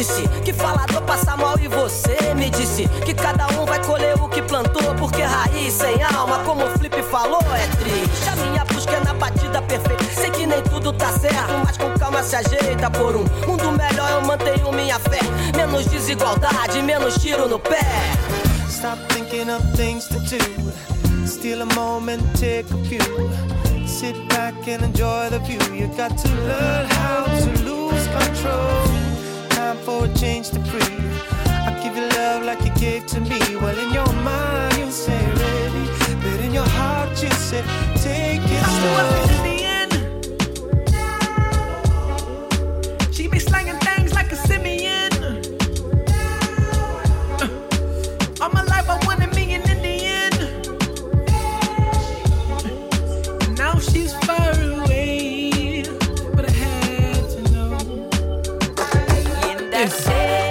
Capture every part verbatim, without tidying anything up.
disse que falador passa mal e você me disse que cada um vai colher o que plantou, porque raiz sem alma, como o Flip falou, é triste. A minha busca é na batida perfeita, sei que nem tudo tá certo, mas com calma se ajeita. Por um mundo melhor eu mantenho minha fé, menos desigualdade, menos tiro no pé. Stop thinking of things to do, steal a moment, take a few, sit back and enjoy the view. You got to learn how to lose control, time for a change to breathe. I give you love like you gave to me. Well, in your mind you say ready, but in your heart you say take it slow. In the end, she be slanging things like a simian. Uh, all my life I wanted me an Indian. Uh, now she's far away, but I had to know. In that same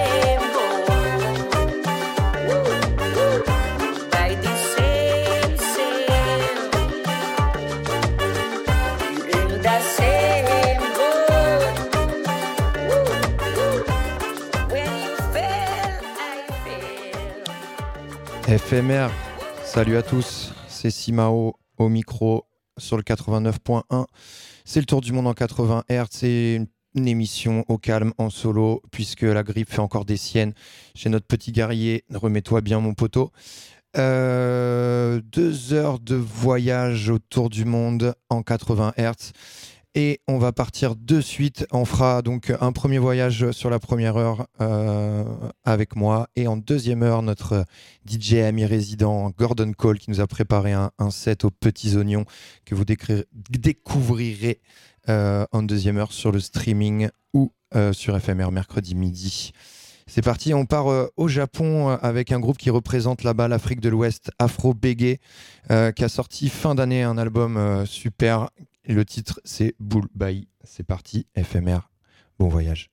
F M R, salut à tous, c'est Simao au micro sur le quatre-vingt-neuf point un. C'est le tour du monde en quatre-vingts hertz, c'est une, une émission au calme en solo puisque la grippe fait encore des siennes. Chez notre petit guerrier, remets-toi bien mon poteau. Euh, deux heures de voyage autour du monde en quatre-vingts hertz. Et on va partir de suite. On fera donc un premier voyage sur la première heure euh, avec moi. Et en deuxième heure, notre D J ami résident Gordon Cole qui nous a préparé un, un set aux petits oignons que vous décri- découvrirez euh, en deuxième heure sur le streaming ou euh, sur F M R mercredi midi. C'est parti, on part euh, au Japon euh, avec un groupe qui représente là-bas l'Afrique de l'Ouest, Afro Bégué, euh, qui a sorti fin d'année un album euh, super. Et le titre, c'est Bull Bye. C'est parti, F M R. Bon voyage.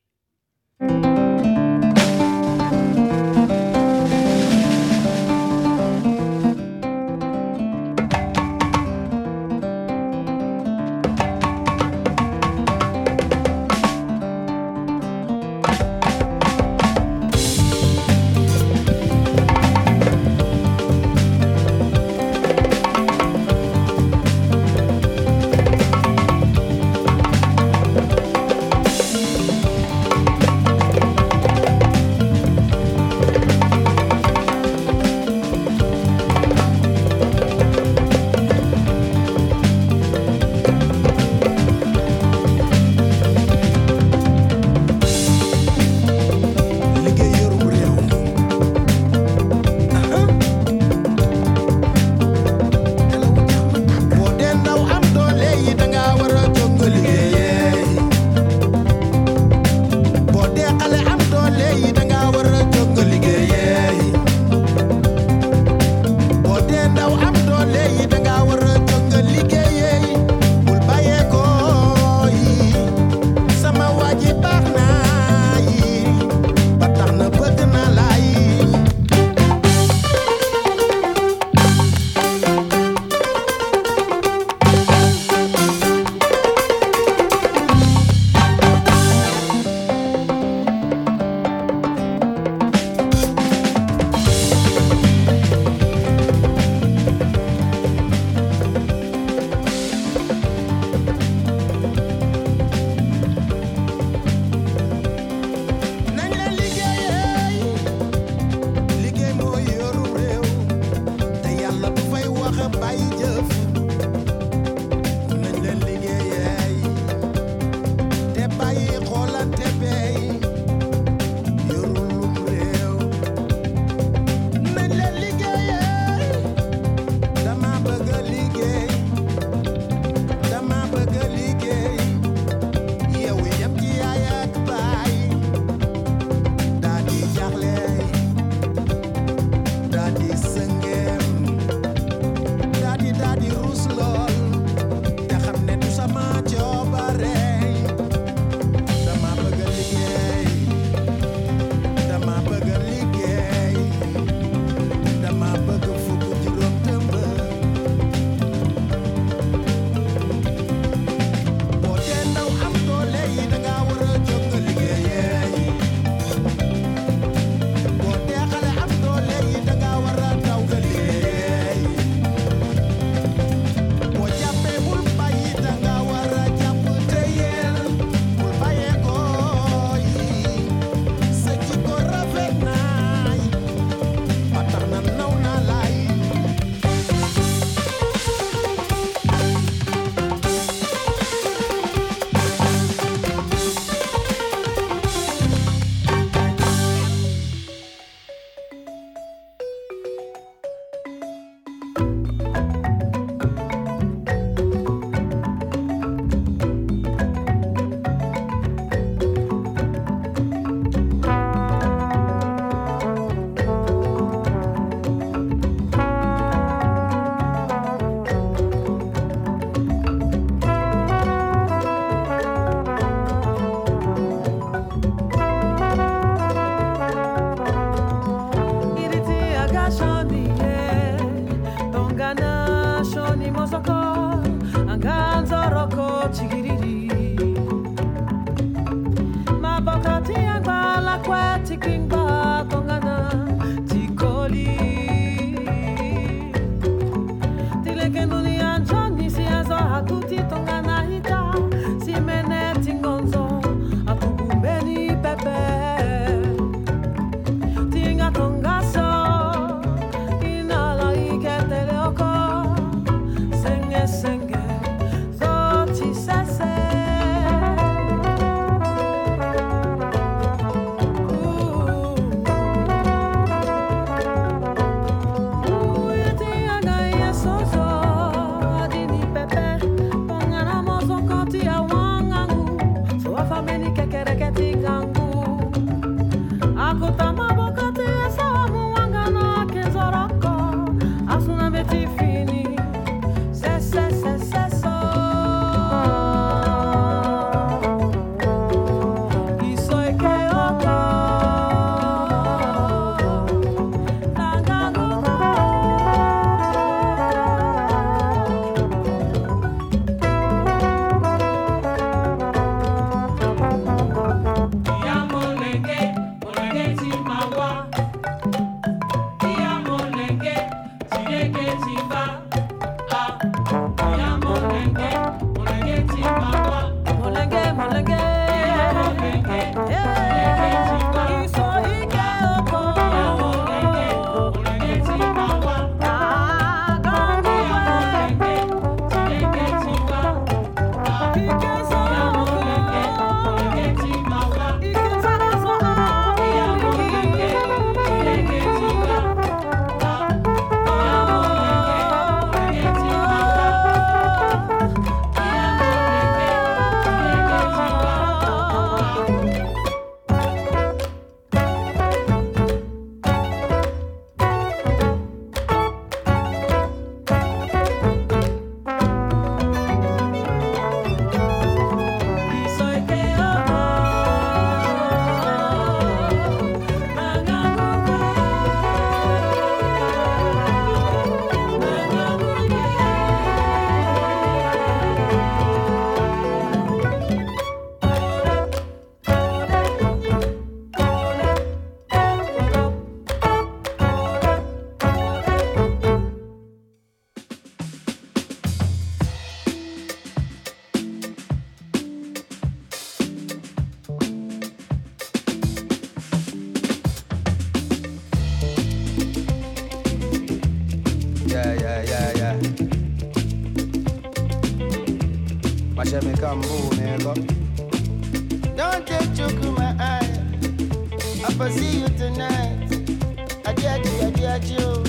My shame come move, man, go. Don't take joke in my eye. I'll see you tonight. I get you, I get you.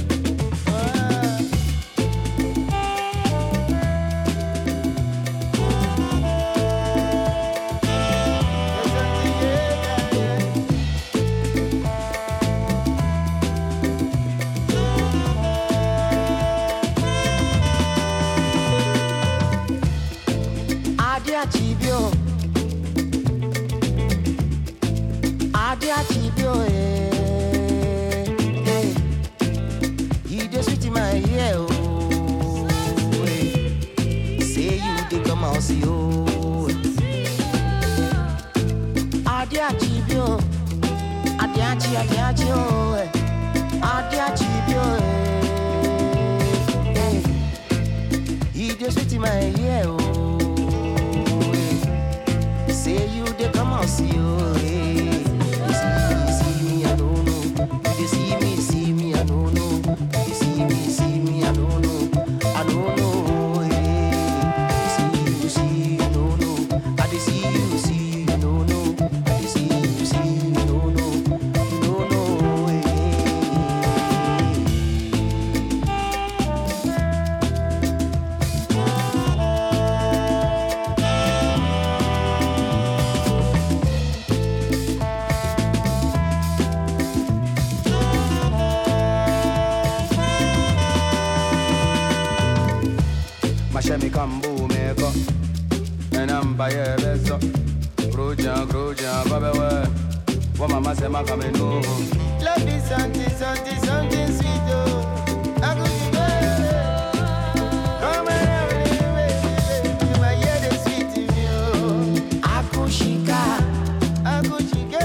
Achibio, Adi Achibio, eh, eh. You just sweet in my ear, oh, eh. Say you dey come out, see, oh. Adi Achibio, Adi Achi, Adi Achi, oh, eh. Adi Achibio, eh, eh. You just sweet in my ear, oh. Say you dey come out, see you, eh. You see me, see me, I don't know. You see me, see me, I don't know. You see me, see me, I don't know. I don't know, eh. You see, you see, you don't know. I dey see you, see, you don't know. I dey see you, see, you don't know. You don't know, eh. Shemi kambu meko Enamba ye beso Grujan, grujan, babewe Wa mama se ma kame no Love is something, something, something sweet oh I could be better Come and baby, my head is sweet in you Akushika, Akushike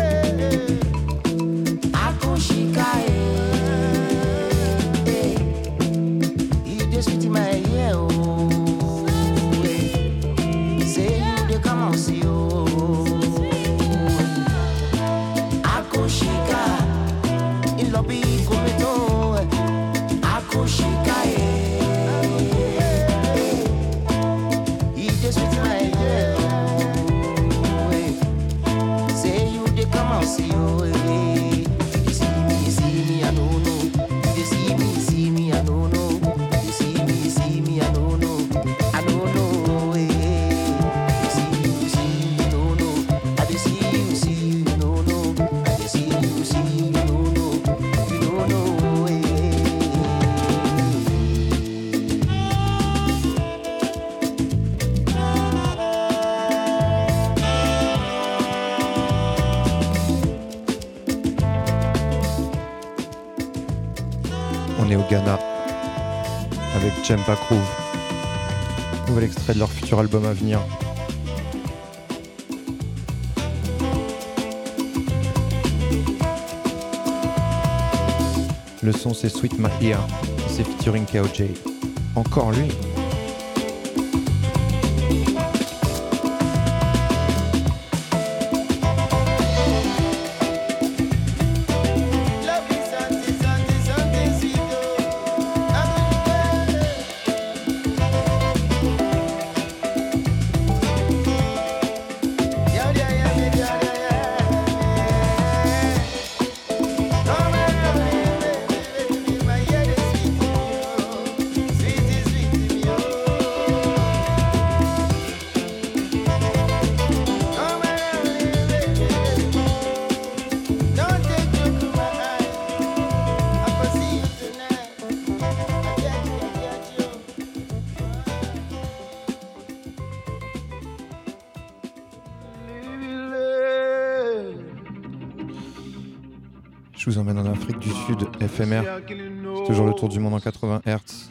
Akushika, eh, eh. You just sweet in my ear, oh. Come on, see you. Akushika, in lobby cometo. Akushika, eh. He just with my ear. Say you they come on, see you. You see me, see me, I don't know. You see me, see me, I don't know. You see me, see me, I don't know. I don't know. On est au Ghana avec Jempa Groove, nouvel extrait de leur futur album à venir. Le son c'est Sweet My Ear, c'est featuring K O J. Encore lui. Je vous emmène en Afrique du Sud, F M R. C'est toujours le tour du monde en quatre-vingts hertz.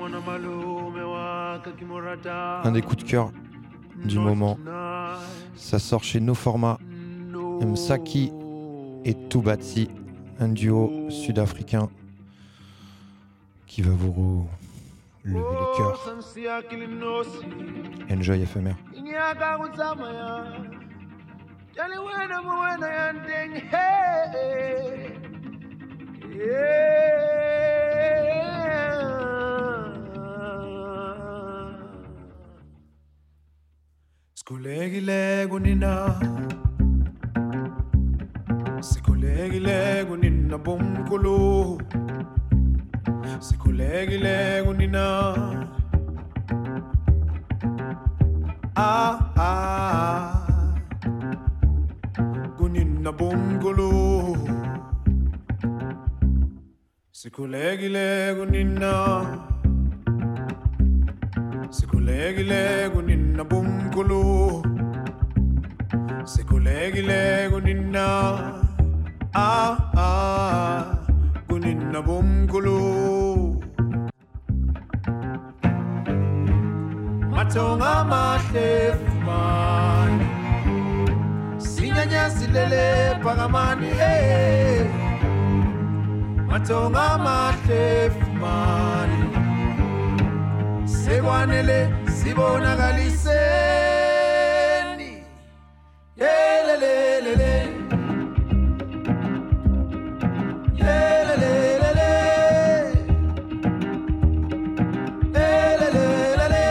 Un des coups de cœur du moment. Ça sort chez No Format. Msaki et Tubatsi, un duo sud-africain qui va vous lever les cœurs. Enjoy F M R. Sikhulekile kunina Sikhulekile kunina bomkhulu Sikhulekile kunina Ah ah kunina bomkhulu Sikhulekile kunina Sikhulekile kunina bomkhulu Sikhulekile kunina Ah ah kunina bomkhulu Matonga mahle fumani Sinyanyazilele pakamani eh Matonga mahle fumani Sekwanele sibonakaliseni Yelelelele Yelelelele Yelelelele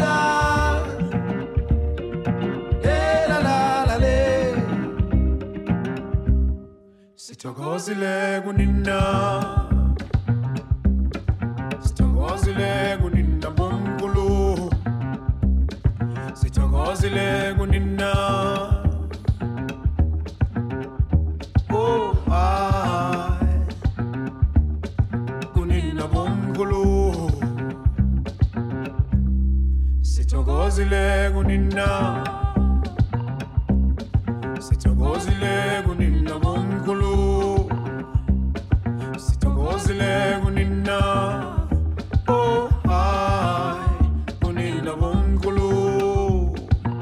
Yelalalale Sithokozile kunina Sithokozile kunina bomkhulu Sithokozile kunina Oh I kunina bomkhulu Sithokozile kunina Sithokozile kunina bomkhulu Sithokozile kunina Oh I kunina bomkhulu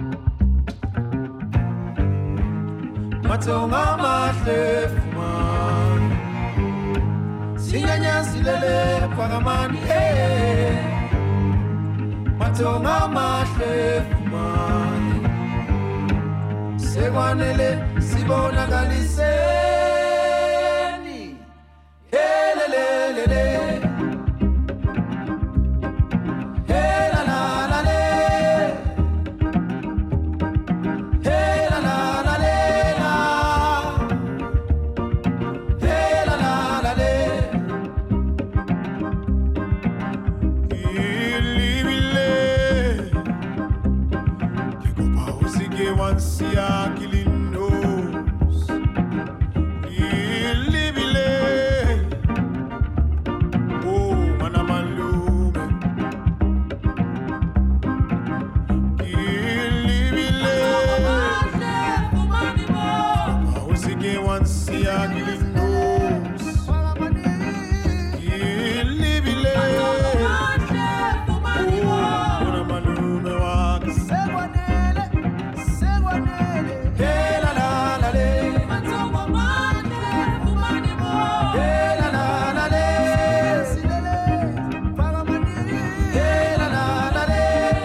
Matonga mahle fumani Sinyanyazilele pakamani eh Matonga mahle fumani Sekwanele sibonakaliseni Helelelele Helalalale Helalalela Helalalale Ilibile Kikopa usike wansia kilinos Ilibile Oh mana malume Ilibile Kikopa usike wansia kilinos Ilibile Oh mana malume wake Segwanele, segwanele, Helalalale Helalalale silele, pagamani, Helalalale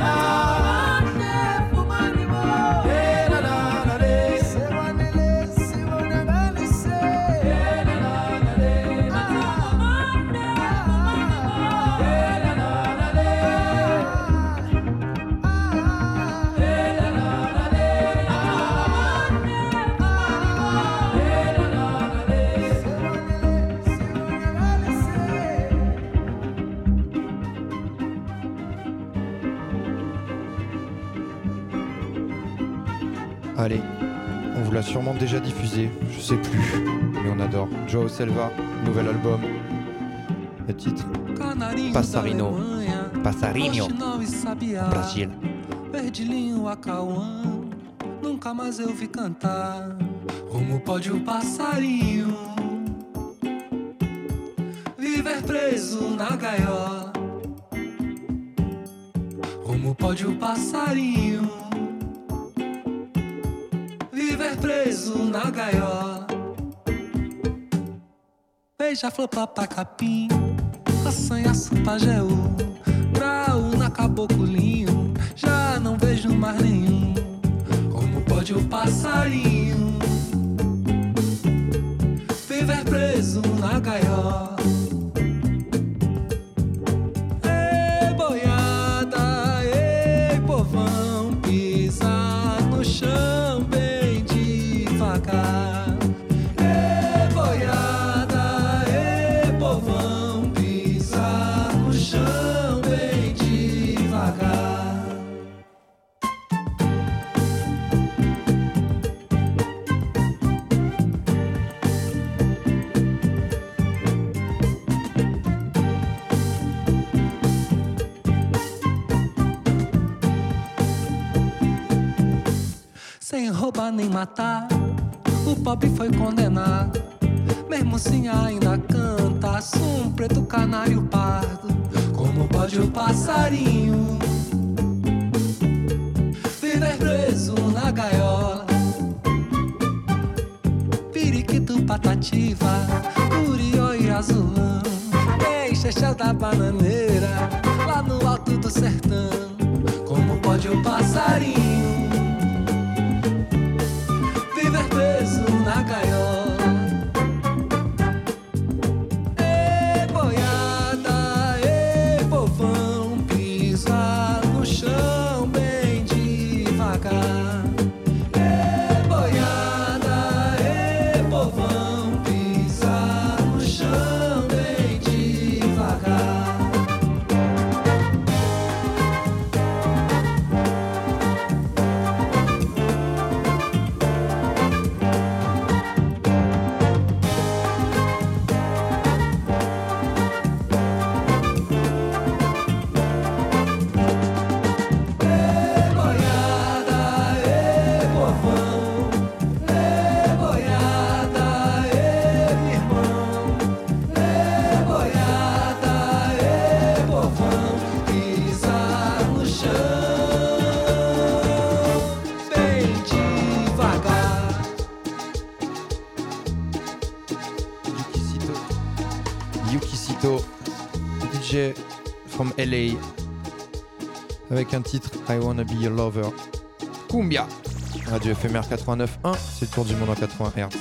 Helalalale segwanele, sibonakaliseni. Allez, on vous l'a sûrement déjà diffusé, je sais plus, mais on adore. Joao Selva, nouvel album. Le titre Passarino. Passarinho. Brasil. Perdilinho Acauã, nunca mais eu vi cantar. Como pode o passarinho viver preso na gaiola? Como pode o passarinho viver preso na gaiola? Beija-flor, papacapim, assanhaço, pajeú, graúna, caboclinho, já não vejo mais nenhum. Como pode o passarinho viver preso na gaiola? Ei, boiada, ei, povão, pisa roubar nem matar. O pobre foi condenado, mesmo assim ainda canta. Sou um preto canário pardo, como pode o passarinho viver preso na gaiola? Periquito, patativa, curió e azulão, Eixexé da bananeira, lá no alto do sertão. Como pode o passarinho viver preso na gaiola? Ei, boiada, ei, povão, pisa no chão bem devagar. Ei, boiada, ei, povão, pisa no chão bem devagar. From L A avec un titre I Wanna Be Your Lover. Cumbia. Radio F M R quatre-vingt-neuf point un, c'est le tour du monde en quatre-vingts hertz.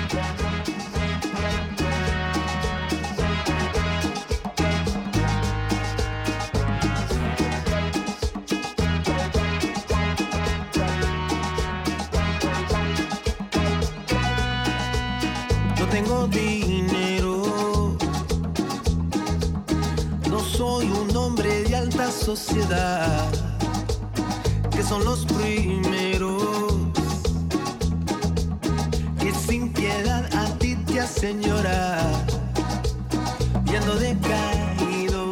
No tengo dinero, no soy un hombre de alta sociedad, que son los primeros que sin piedad a ti te hacen llorar, viendo decaído,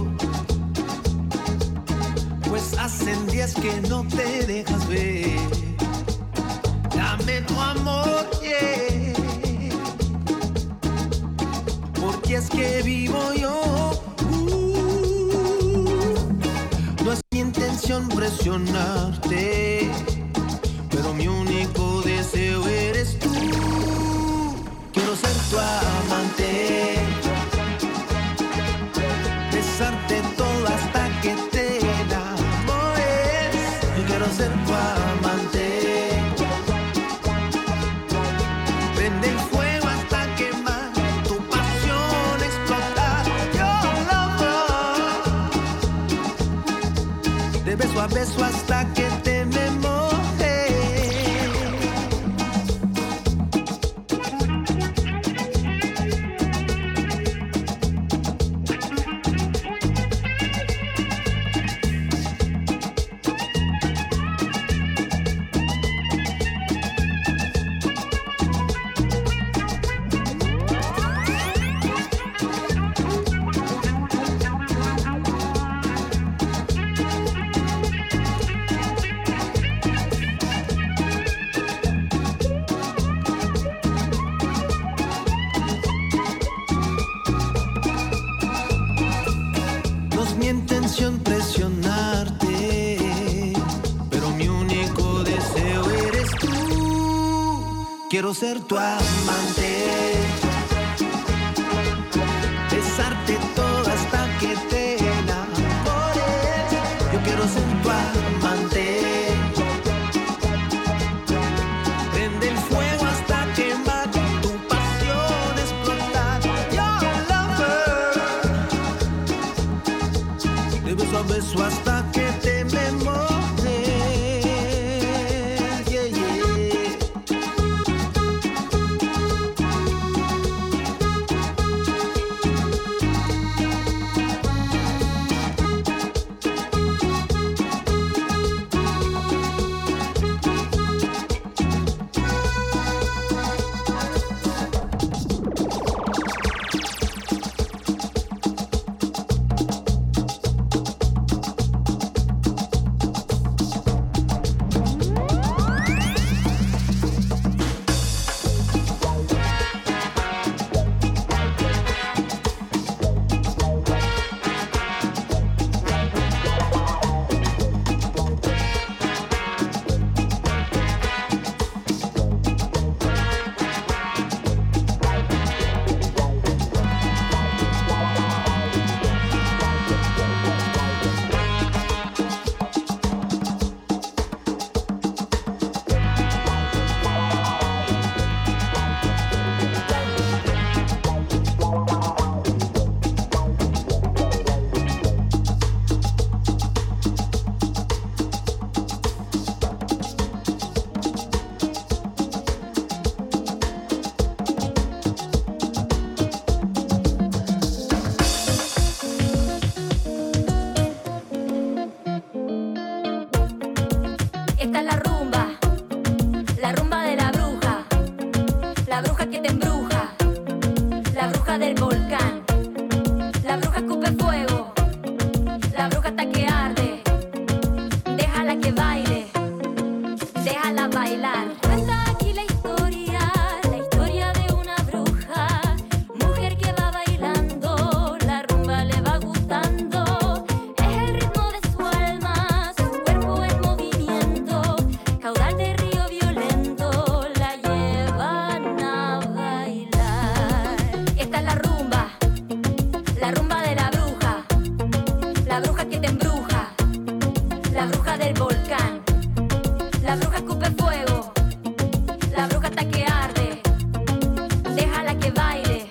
pues hacen días que no te dejas ver. Dame tu amor, yeah, porque es que vivo yo. No es mi intención presionarte, pero mi único deseo eres tú. Quiero ser tu amante, besarte todo hasta que te enamores. Yo quiero ser tu amante, prende el fuego hasta quemar, tu pasión explotar. Yo lover, de beso a beso hasta que te me moje. Presionarte, pero mi único deseo eres tú. Quiero ser tu amante, besarte todo hasta que te enamores. Yo quiero ser tu amante, prende el fuego hasta quemar, tu pasión explotar. Yo lover, de beso a beso hasta que te me moje. Yeah, yeah. La bruja que te embruja, la bruja del volcán, la bruja escupe fuego, la bruja hasta que arde. Déjala que baile, déjala bailar. Cuenta aquí la historia, la historia de una bruja, mujer que va bailando, la rumba le va gustando. Es el ritmo de su alma, su cuerpo en movimiento, caudal de río violento, la llevan a bailar. Esta es la rumba, la rumba de la bruja, la bruja que te embruja, la bruja del volcán, la bruja escupe fuego, la bruja hasta que arde. Déjala que baile,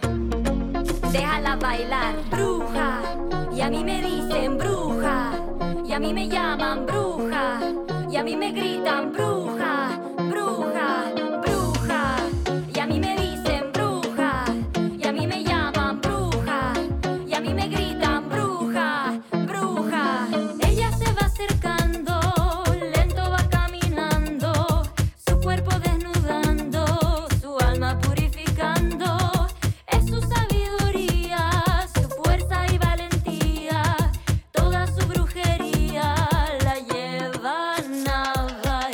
déjala bailar. Bruja, y a mí me dicen bruja, y a mí me llaman bruja, y a mí me gritan bruja, bruja, bruja, y a mí me dicen bruja, y a mí me llaman bruja, y a mí me gritan bruja, bruja. Ella se va acercando, lento va caminando, su cuerpo desnudando, su alma purificando. Es su sabiduría, su fuerza y valentía, toda su brujería la llevan a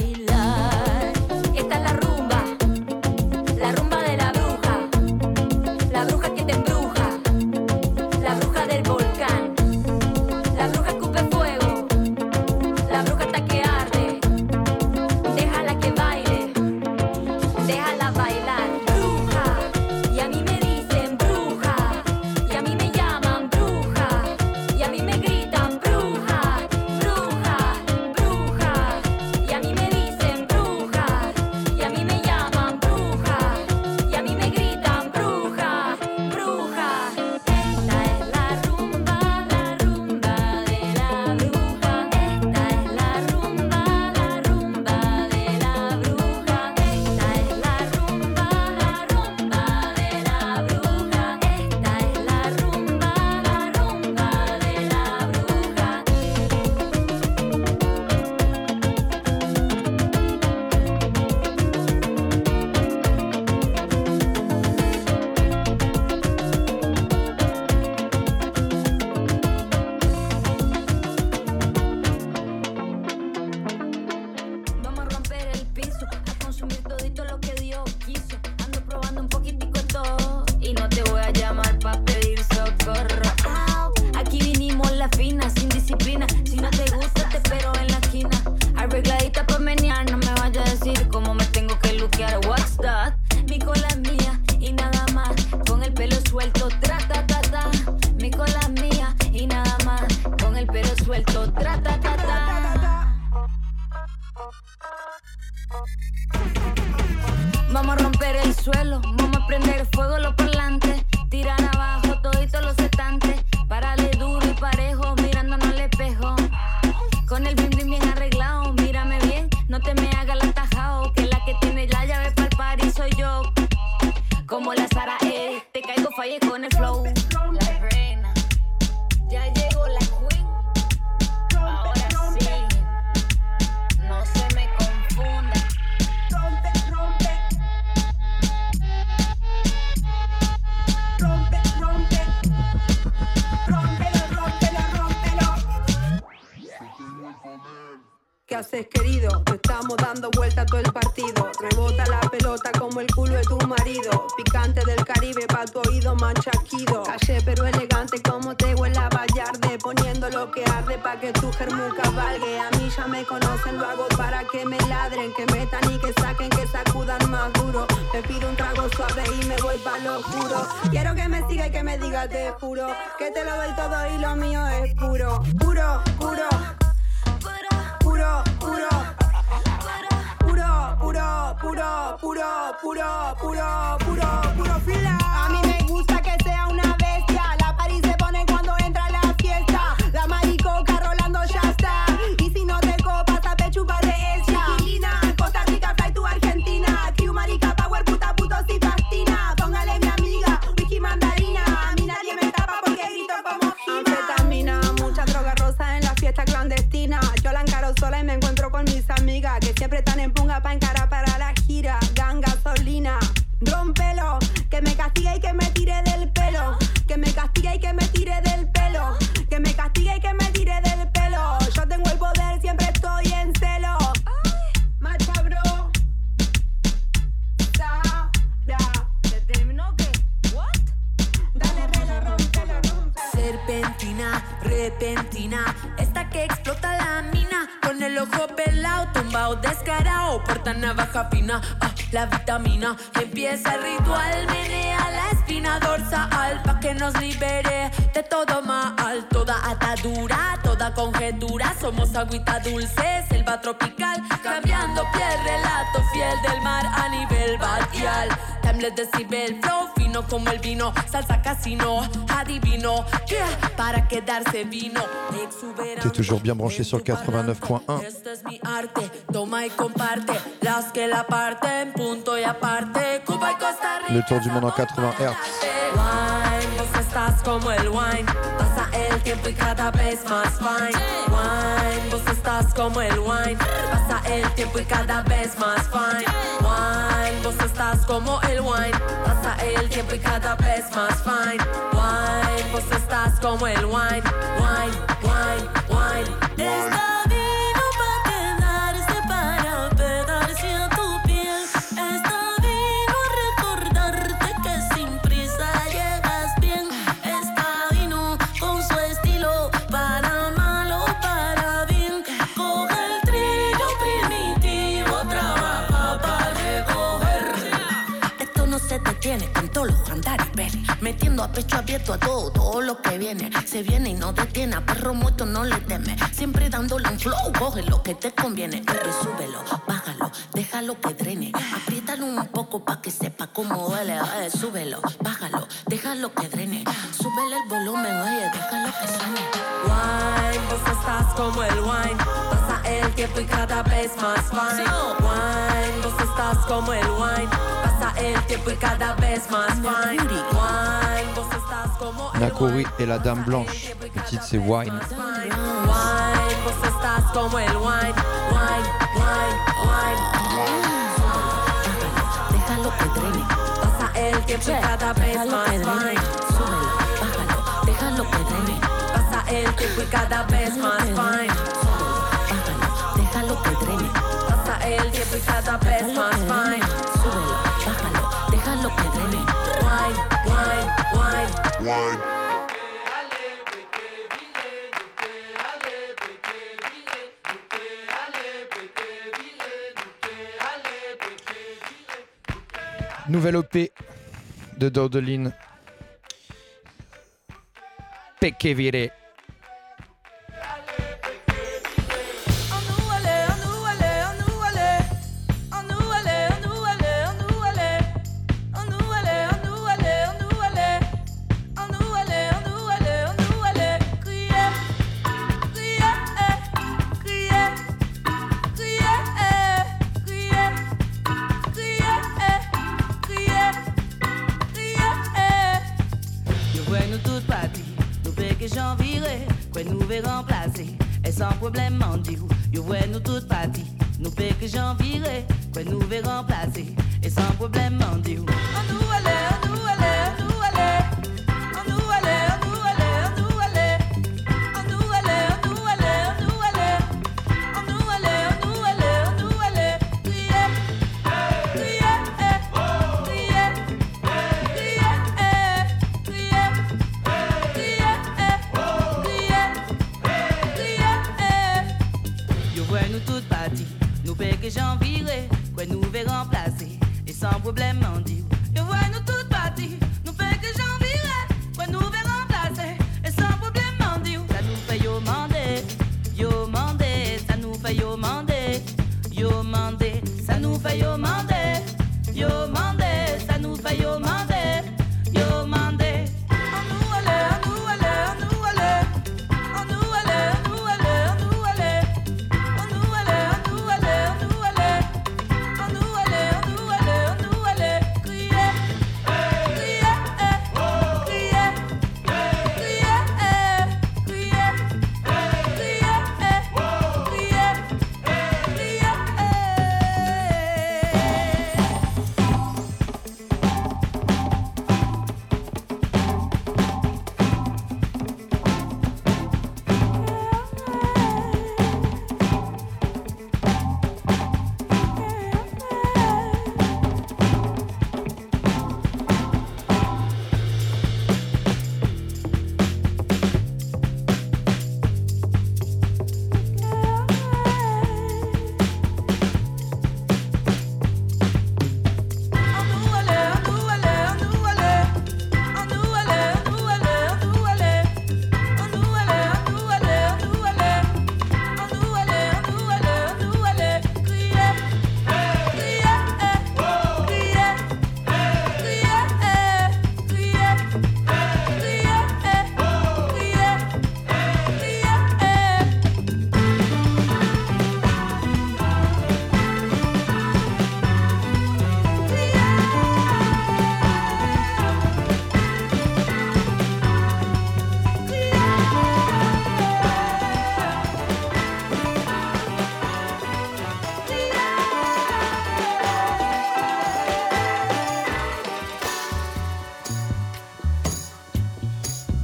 bailar. Esta es la rumba, la rumba de la bruja, la bruja que te embruja, la bruja del volcán, la bruja escupe fuego, la bruja hasta que arde. Déjala que baile, déjala bailar. Bruja, y a mí me dicen bruja, y a mí me llaman bruja, y a mí me gritan bruja, bruja, bruja, y a mí me dicen bruja, y a mí me llaman bruja, y a mí me gritan bruja, bruja. Esta es la rumba, la rumba de la bruja. Esta es la rumba, la rumba de la bruja. Esta es la rumba, la rumba de la bruja. Esta es la rumba, la rumba de la bruja. Vamos a romper el piso, a consumir todito lo que Dios quiso. Ando probando un poquitico de todo y no te voy a llamar pa' pedir socorro. Au. Aquí vinimos la fina, sin disciplina. Si no te gusta te espero en la esquina. Arregladita pa' menear, no me vaya a decir cómo me tengo que luquear. What's that? Mi cola es mía y nada más. Con el pelo suelto, tra ta ta ta. Mi cola es mía y nada más. Con el pelo suelto, tra ta ta ta. Vamos a romper el suelo, vamos a prender fuego los parlantes, tirar abajo todito los estantes, parale duro y parejo, mirándonos al espejo, con el bling bling bien arreglado, mírame bien, no te me hagas la tajao, que la que tiene la llave pa'l party soy yo, como la Sara E, te caigo falle con el flow, la reina, ya llegó la queen, ahora sí, no se me confunda. Rompe, rompe, rompe, rompe, rómpelo, rómpelo, rómpelo. ¿Qué haces, querido? Te estamos dando vuelta todo el partido. Rebota la pelota como el culo de tu marido. Picante del Caribe pa' tu oído manchaquido. Caché pero elegante como te huela Vallarde. Poniendo lo que arde pa' que tu germu cabalgue. A mí ya me conocen, lo hago para que me ladren, que metan y que saquen, que sacudan más duro. Me pido un trago suave y me voy pa' lo oscuro. Quiero que me siga y que me diga te juro, que te lo doy todo y lo mío es puro. Puro, puro, puro, puro, puro, puro, puro, puro, puro, puro, puro, puro fila. A mí me gusta que sea una bestia. La party se pone cuando entra la fiesta. La maricoca rolando ya está. Y si no te copas, a pechupa de esta. Chiquilina, Costa Rica, fly to Argentina. Q marica, power, puta, puto, si fastina. Póngale mi amiga, whisky mandarina. A mí nadie me tapa porque grito como Gina. Anfetamina, mucha droga rosa en la fiesta clandestina. Yo la encaro sola y me encuentro con mis amigas, que siempre están en punga pa' encarar para la gira. Gan gasolina, rompe castigue y que me tire del pelo. Que me castigue y que me tire del pelo. Que me castigue y que me tire del pelo. Yo tengo el poder, siempre estoy en celo. Macha bro. Sara. ¿Se terminó qué? What? Dale, rela, rompela, rompela. Serpentina, repentina, esta que explota la mina. Con el ojo pelado, tumbado, descarado, porta navaja fina, ah, la vitamina. Empieza el ritual, menea la espina dorsal pa' que nos libere de todo mal. Toda atadura, toda conjetura, somos agüita dulce, selva tropical. Cambiando piel, relato fiel del mar a nivel batial. Timeless decibel, flow fino como el vino, salsa casino, adivino, yeah, para quedarse vino. T'es toujours bien branché sur le quatre-vingt-neuf point un. Este es mi arte, toma y comparte. Las que la parten, punto y aparte. Cuba y Costa Rica. Le tour du monde en quatre-vingts hertz. Wine, vos estás como el wine. Pasa el tiempo y cada vez más fine. Wine, vos estás como el wine. Pasa el tiempo y cada vez más fine. Wine, vos estás como el wine. Pasa el tiempo y cada vez más fine. Wine, vos estás como el wine. Wine, wine, wine. Está vino pa' quedarse, para pegarse a tu piel. Está vino a recordarte que sin prisa llegas bien. Está vino con su estilo, para mal o para bien. Coge el trillo primitivo, trabaja para recoger. Esto no se detiene con todos los andares, ven. Metiendo a pecho abierto a todo, todo lo que viene. Se viene y no detiene, a perro muerto no le teme. Siempre dándole un flow, coge lo que te conviene. Y súbelo, bájalo, déjalo que drene. Apriétalo un poco pa' que sepa cómo duele. Oye, súbelo, bájalo, déjalo que drene. Súbele el volumen, oye, déjalo que suene. Wine, vos estás como el wine. Pasa el tiempo y cada vez más fine. Wine, vos estás como el wine. Pasa el tiempo y cada vez más fine. Wine, vos estás como el Nakori et la Dame Blanche. Le titre c'est Wine. wine. Wine, vos estás como el wine. Wine, wine, wine. Déjalo que drene. Pasa el tiempo y cada vez más fine. Súbelo, bájalo, déjalo que drene. Pasa el tiempo y cada vez más fine. Bájalo, déjalo que drene. Pasa el tiempo y cada vez más fine. Súbelo, bájalo, déjalo que drene. Wine, wine, wine. Wine. Nouvelle O P de Dordeline. Peque Vire. Sans problème, on dit, yo ouais nous toutes parties. Nous paie que j'en virerai, quoi nous verrons placer. Et sans problème, on dit, on nous allait, on nous allait, on nous allait. On nous allait, on nous allait, on nous allait. On nous allait, on nous allait, on nous allait. On nous allait, on nous allait, on nous allait. Crier, crier, crier, crier, crier, crier, crier. Yo ouais nous toutes parties. Nous paie que j'en virerai, quoi nous verrons placer. Et sans problème, on dit.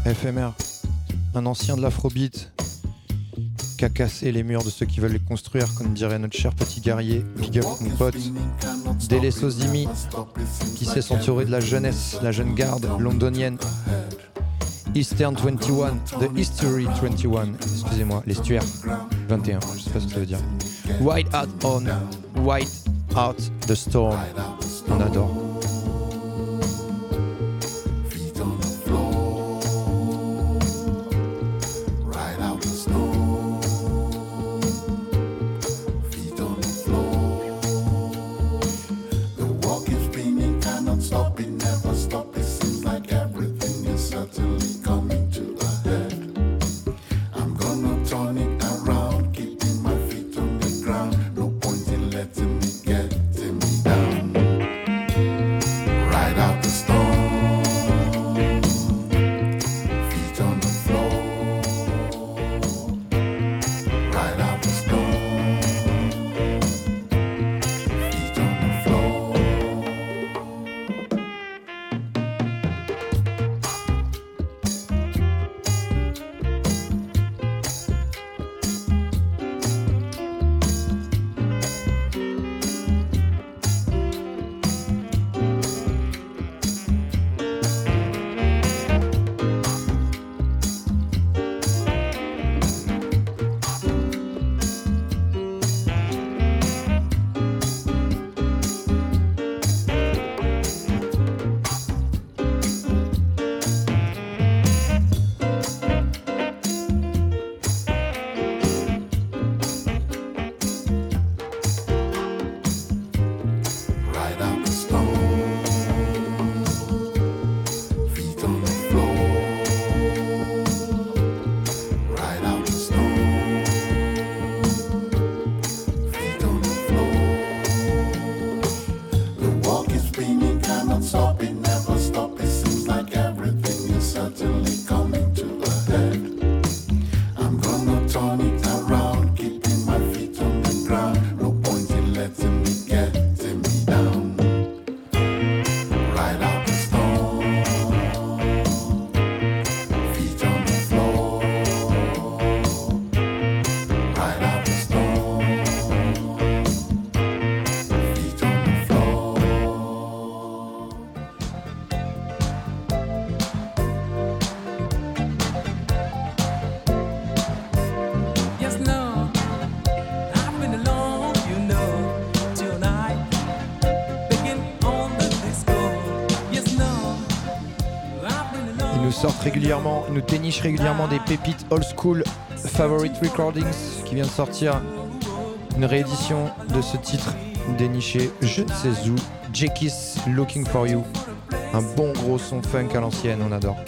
F M R, un ancien de l'afrobeat qui a cassé les murs de ceux qui veulent les construire, comme dirait notre cher petit guerrier. Big up mon pote Dele Sozimi, qui s'est ceinturé de la jeunesse, la jeune garde londonienne. Eastern vingt et un, The History vingt et un, excusez-moi, l'estuaire vingt et un, je sais pas ce que ça veut dire. White Out On, White Out the Storm, on adore. Régulièrement, nous déniche régulièrement des pépites old school. Favorite Recordings qui vient de sortir une réédition de ce titre déniché je ne sais où, Jackie's Looking For You, un bon gros son funk à l'ancienne, on adore.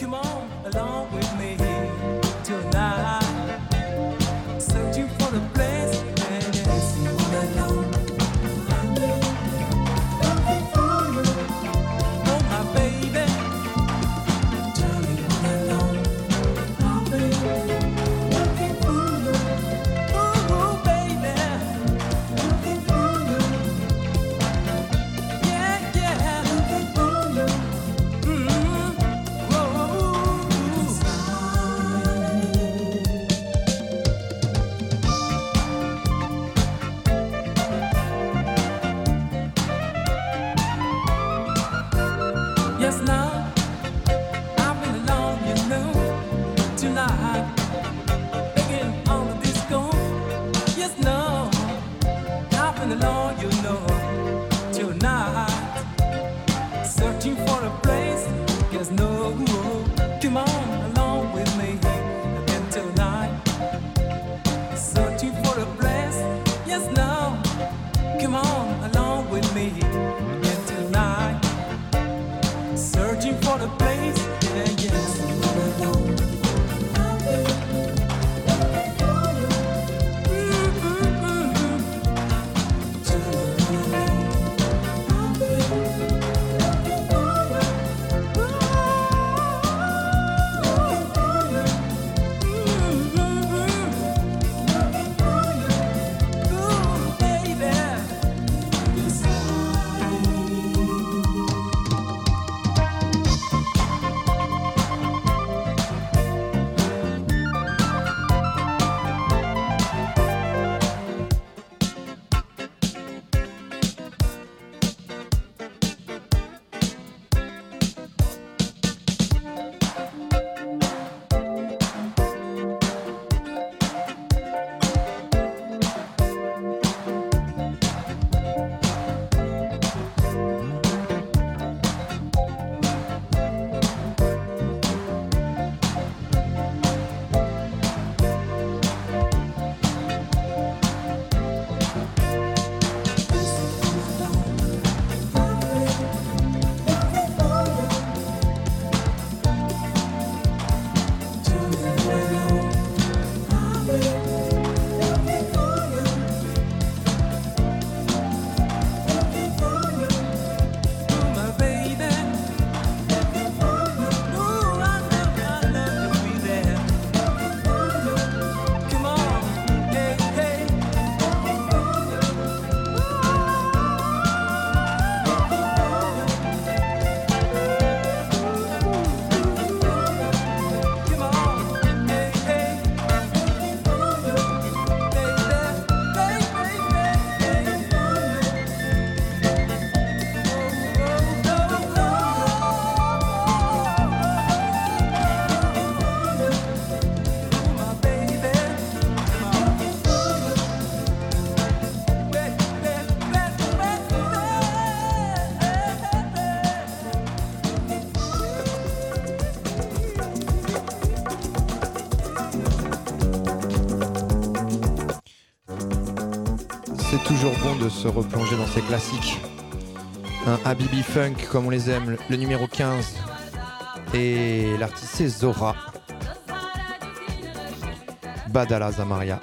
C'est toujours bon de se replonger dans ces classiques. Un Habibi Funk comme on les aime, le numéro quinze. Et l'artiste c'est Zora. Badala Zamaria.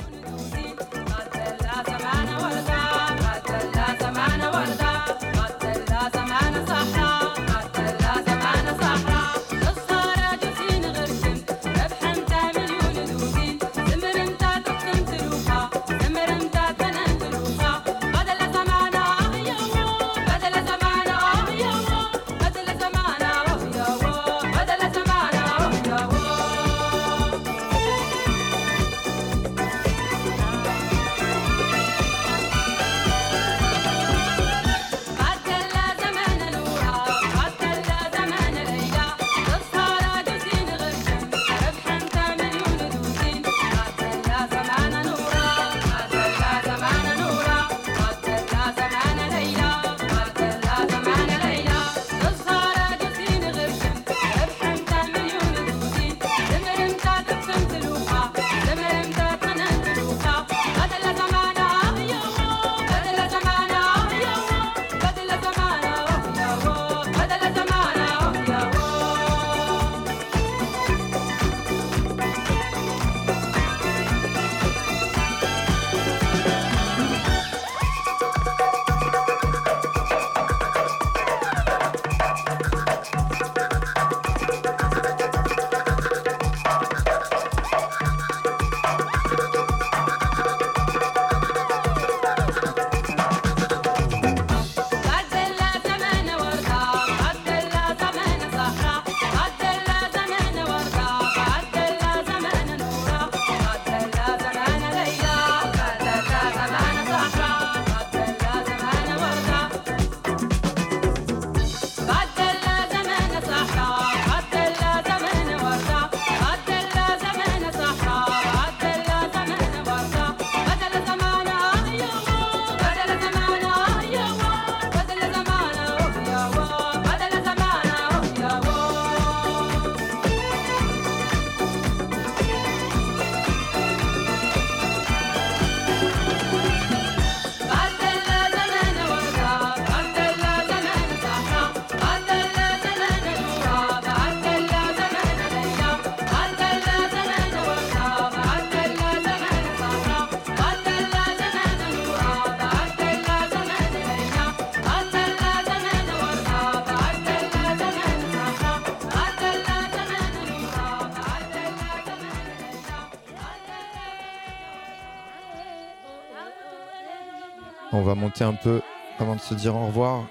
On va monter un peu avant de se dire au revoir.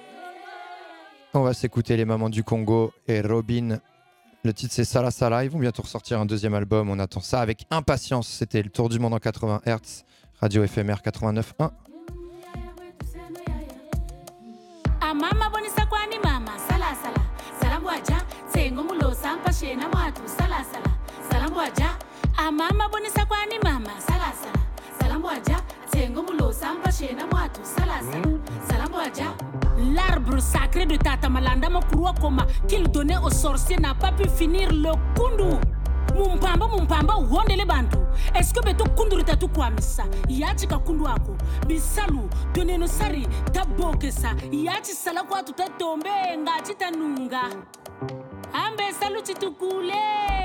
On va s'écouter les Mamans du Congo et Robin. Le titre c'est Sala Sala. Ils vont bientôt ressortir un deuxième album. On attend ça avec impatience. C'était le Tour du Monde en quatre-vingts hertz. Radio F M R quatre-vingt-neuf point un. Mama bonisa kwani mama sala sala salambu aja tsengo mulo sampa shena mwatu sala sala salambu aja a mama bonisa kwani mama sala sala salambu aja tsengo mulo sampa shena mwatu sala sala salambu aja. L'arbre sacré de Tata Malanda Mokurwa Koma qu'il donnait aux sorciers n'a pas pu finir le kundu. Mumpamba mumpamba wondele bantu. Est-ce que beto kunduri tatu kwamisa yachi ka kundu ako bisalu doneno sari tabokesa yachi sala kwa tutatombe ngachi tanunga ambe salu chitukule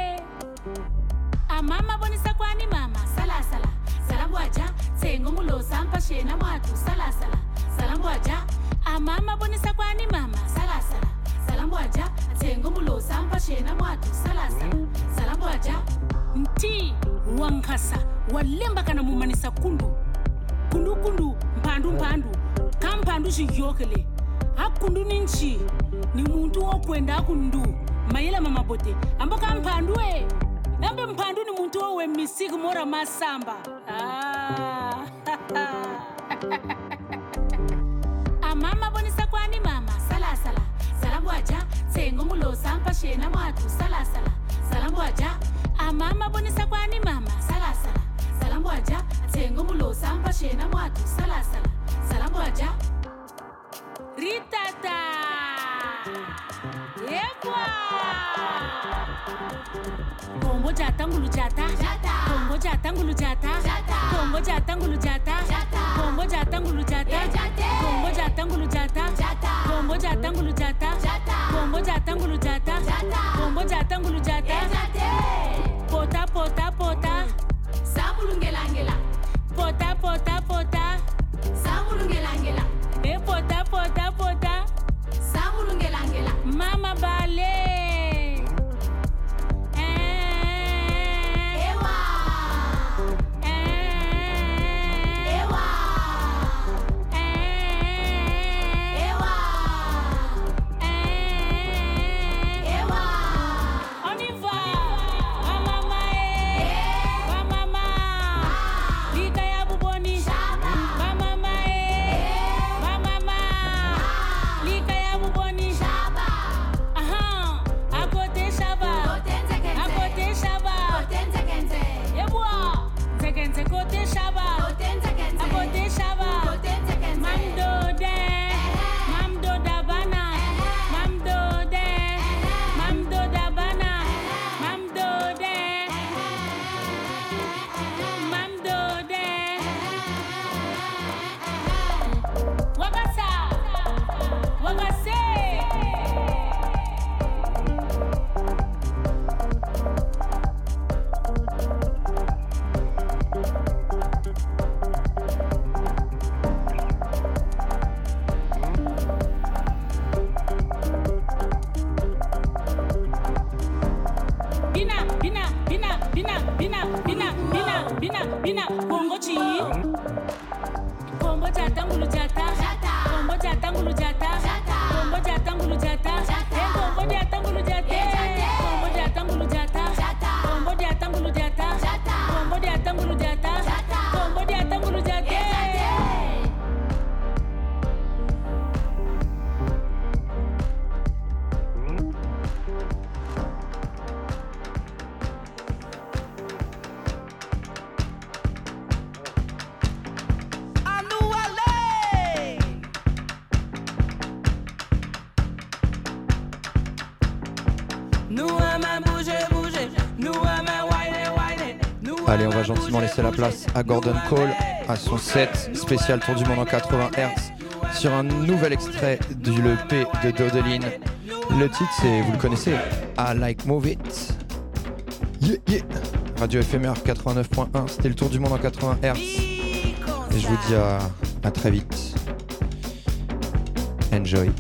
amama bonisa kwani mama sala sala salambu aja tsengo mulo sampa shena mwatu sala sala salambu aja amama bonisa kwani mama sala sala salambu aja tsengo mulo sampa shena mwatu sala sala salambu aja nti wankasa walemba kana mumanisa kundu kundu kundu mpandu mpandu kampandu shiyokele hakundu ninchi ni muntu wo kwenda kundu mayela mama bote amboka mpandu e nambe mpandu ni muntu wo we misiki mora masamba ah amama bonisa kwani mama sala sala salambu aja tsengo mulo sampa shena mwatu sala sala salambu aja amama bonisa kwani mama sala sala salambu aja tsengo mulo sampa shena mwatu sala sala salambu aja ritata yekwa Kombo jata ngulu jata Kombo jata ngulu jata Kombo jata ngulu jata Kombo jata ngulu jata Kombo jata ngulu jata Kombo jata ngulu jata Kombo jata ngulu jata Kombo jata ngulu jata Pota pota pota Samulungela ngela Pota pota pota Samulungela ngela E pota pota pota Samulungela ngela Mama Bale Allez, on va gentiment laisser la place à Gordon Cole, à son set spécial Tour du Monde en quatre-vingts hertz, sur un nouvel extrait du E P de Dodeline. Le titre, c'est, vous le connaissez, I Like Move It. Yeah, yeah. Radio F M R quatre-vingt-neuf point un, c'était le Tour du Monde en quatre-vingts hertz. Et je vous dis à, à très vite. Enjoy.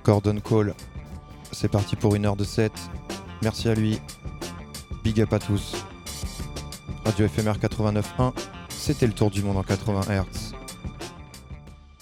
Gordon Cole. C'est parti pour une heure de set. Merci à lui. Big up à tous. Radio F M R quatre-vingt-neuf point un. C'était le tour du monde en quatre-vingts hertz.